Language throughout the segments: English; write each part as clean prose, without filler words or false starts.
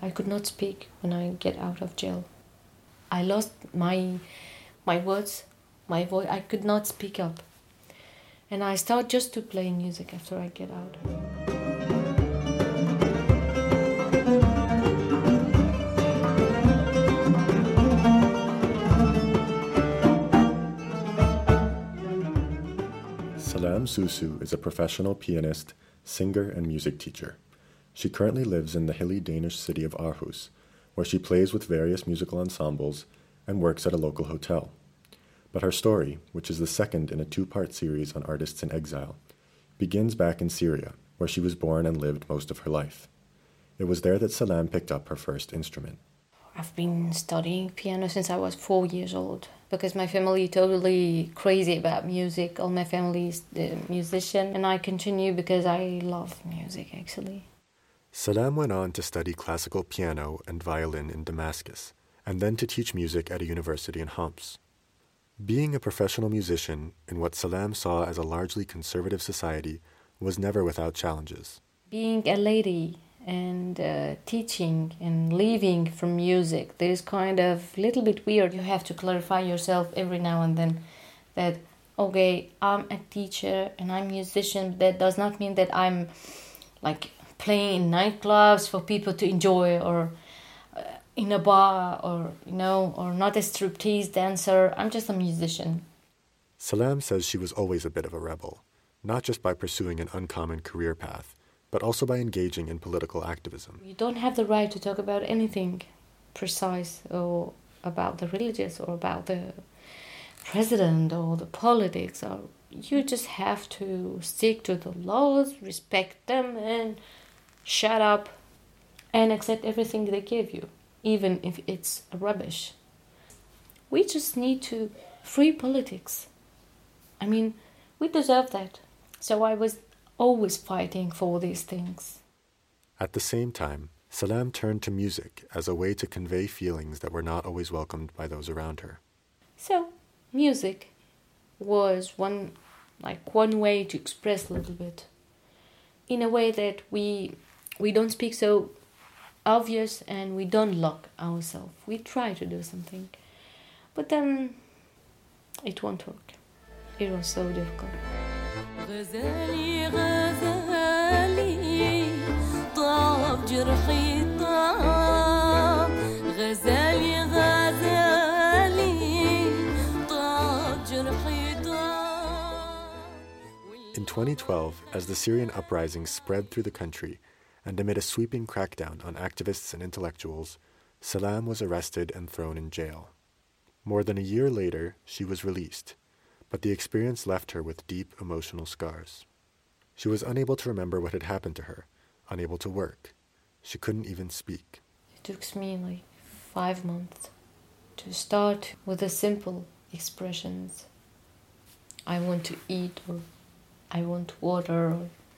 I could not speak when I get out of jail. I lost my words, my voice. I could not speak up. And I start just to play music after I get out. Salam Susu is a professional pianist, singer, and music teacher. She currently lives in the hilly Danish city of Aarhus, where she plays with various musical ensembles and works at a local hotel. But her story, which is the second in a two-part series on artists in exile, begins back in Syria, where she was born and lived most of her life. It was there that Salam picked up her first instrument. I've been studying piano since I was 4 years old because my family is totally crazy about music. All my family is the musician, and I continue because I love music, actually. Salam went on to study classical piano and violin in Damascus, and then to teach music at a university in Homs. Being a professional musician in what Salam saw as a largely conservative society was never without challenges. Being a lady and teaching and living from music, there is kind of a little bit weird. You have to clarify yourself every now and then that, okay, I'm a teacher and I'm a musician. That does not mean that I'm like playing in nightclubs for people to enjoy, or in a bar, or or not a striptease dancer. I'm just a musician. Salam says she was always a bit of a rebel, not just by pursuing an uncommon career path, but also by engaging in political activism. You don't have the right to talk about anything precise, or about the religious, or about the president, or the politics. Or you just have to stick to the laws, respect them, and shut up and accept everything they give you, even if it's rubbish. We just need to free politics. I mean, we deserve that. So I was always fighting for these things. At the same time, Salam turned to music as a way to convey feelings that were not always welcomed by those around her. So music was one way to express a little bit, in a way that we don't speak so obvious, and we don't lock ourselves. We try to do something, but then it won't work. It was so difficult. غزالي غزالي طاب جرحي طاب غزالي غزالي طاب جرحي طاب. In 2012, as the Syrian uprising spread through the country, and amid a sweeping crackdown on activists and intellectuals, Salam was arrested and thrown in jail. More than a year later, she was released, but the experience left her with deep emotional scars. She was unable to remember what had happened to her, unable to work. She couldn't even speak. It took me 5 months to start with the simple expressions. I want to eat, or I want water,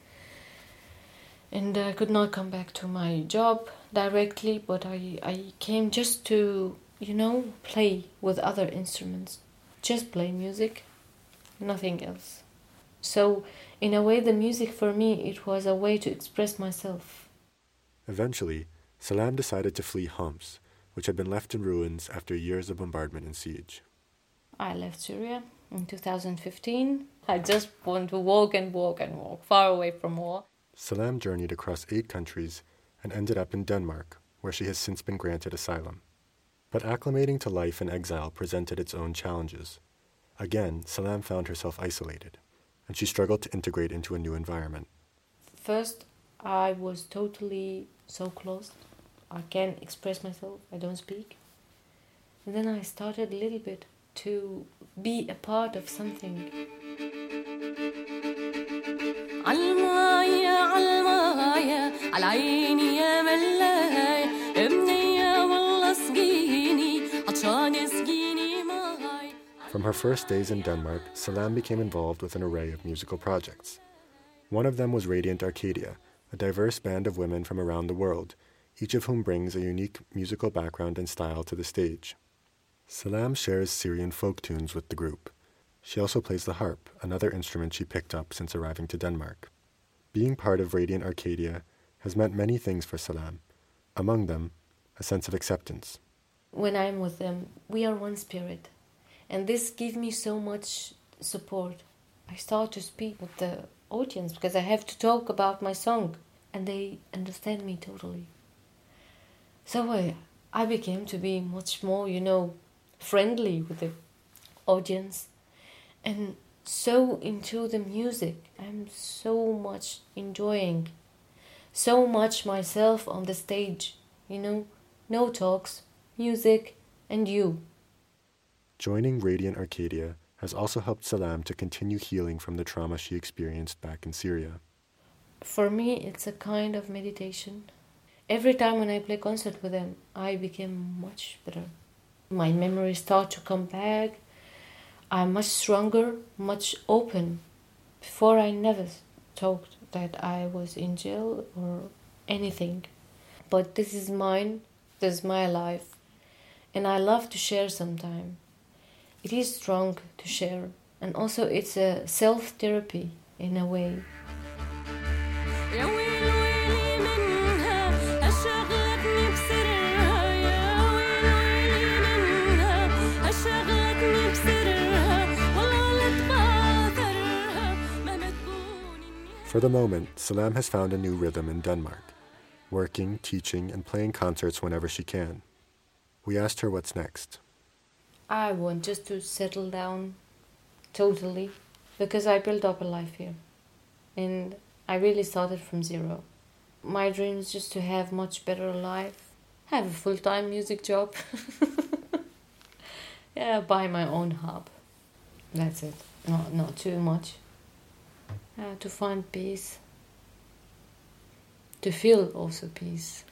and I could not come back to my job directly, but I came just to, play with other instruments. Just play music, nothing else. So, in a way, the music for me, it was a way to express myself. Eventually, Salam decided to flee Homs, which had been left in ruins after years of bombardment and siege. I left Syria in 2015. I just want to walk and walk and walk, far away from war. Salam journeyed across 8 countries and ended up in Denmark, where she has since been granted asylum. But acclimating to life in exile presented its own challenges. Again, Salam found herself isolated, and she struggled to integrate into a new environment. First, I was totally so closed. I can't express myself, I don't speak. And then I started a little bit to be a part of something. عالماية عالماية عالعيني يا ملاي ابني يا والله سقيني عطشان سقيني ماي. From her first days in Denmark, Salam became involved with an array of musical projects. One of them was Radiant Arcadia, a diverse band of women from around the world, each of whom brings a unique musical background and style to the stage. Salam shares Syrian folk tunes with the group. She also plays the harp, another instrument she picked up since arriving to Denmark. Being part of Radiant Arcadia has meant many things for Salam, Among them, a sense of acceptance. When I'm with them, we are one spirit. And this gives me so much support. I start to speak with the audience because I have to talk about my song. And they understand me totally. So I became to be much more, friendly with the audience. And so into the music. I'm so much enjoying. So much myself on the stage. No talks, music, and you. Joining Radiant Arcadia has also helped Salam to continue healing from the trauma she experienced back in Syria. For me, it's a kind of meditation. Every time when I play concert with them, I become much better. My memories start to come back. I'm much stronger, much open. Before I never thought that I was in jail or anything. But this is mine, this is my life. And I love to share sometime. It is strong to share. And also it's a self-therapy in a way. For the moment, Salam has found a new rhythm in Denmark, working, teaching, and playing concerts whenever she can. We asked her what's next. I want just to settle down totally, because I built up a life here. And I really started from zero. My dream is just to have much better life, have a full-time music job. Buy my own hub. That's it. Not too much. To find peace. To feel also peace.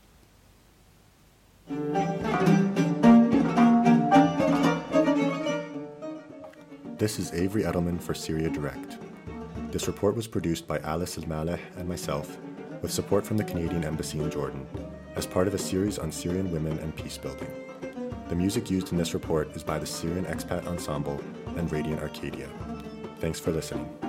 This is Avery Edelman for Syria Direct. This report was produced by Alice Al-Maleh and myself, with support from the Canadian Embassy in Jordan, as part of a series on Syrian women and peace building. The music used in this report is by the Syrian Expat Ensemble and Radiant Arcadia. Thanks for listening.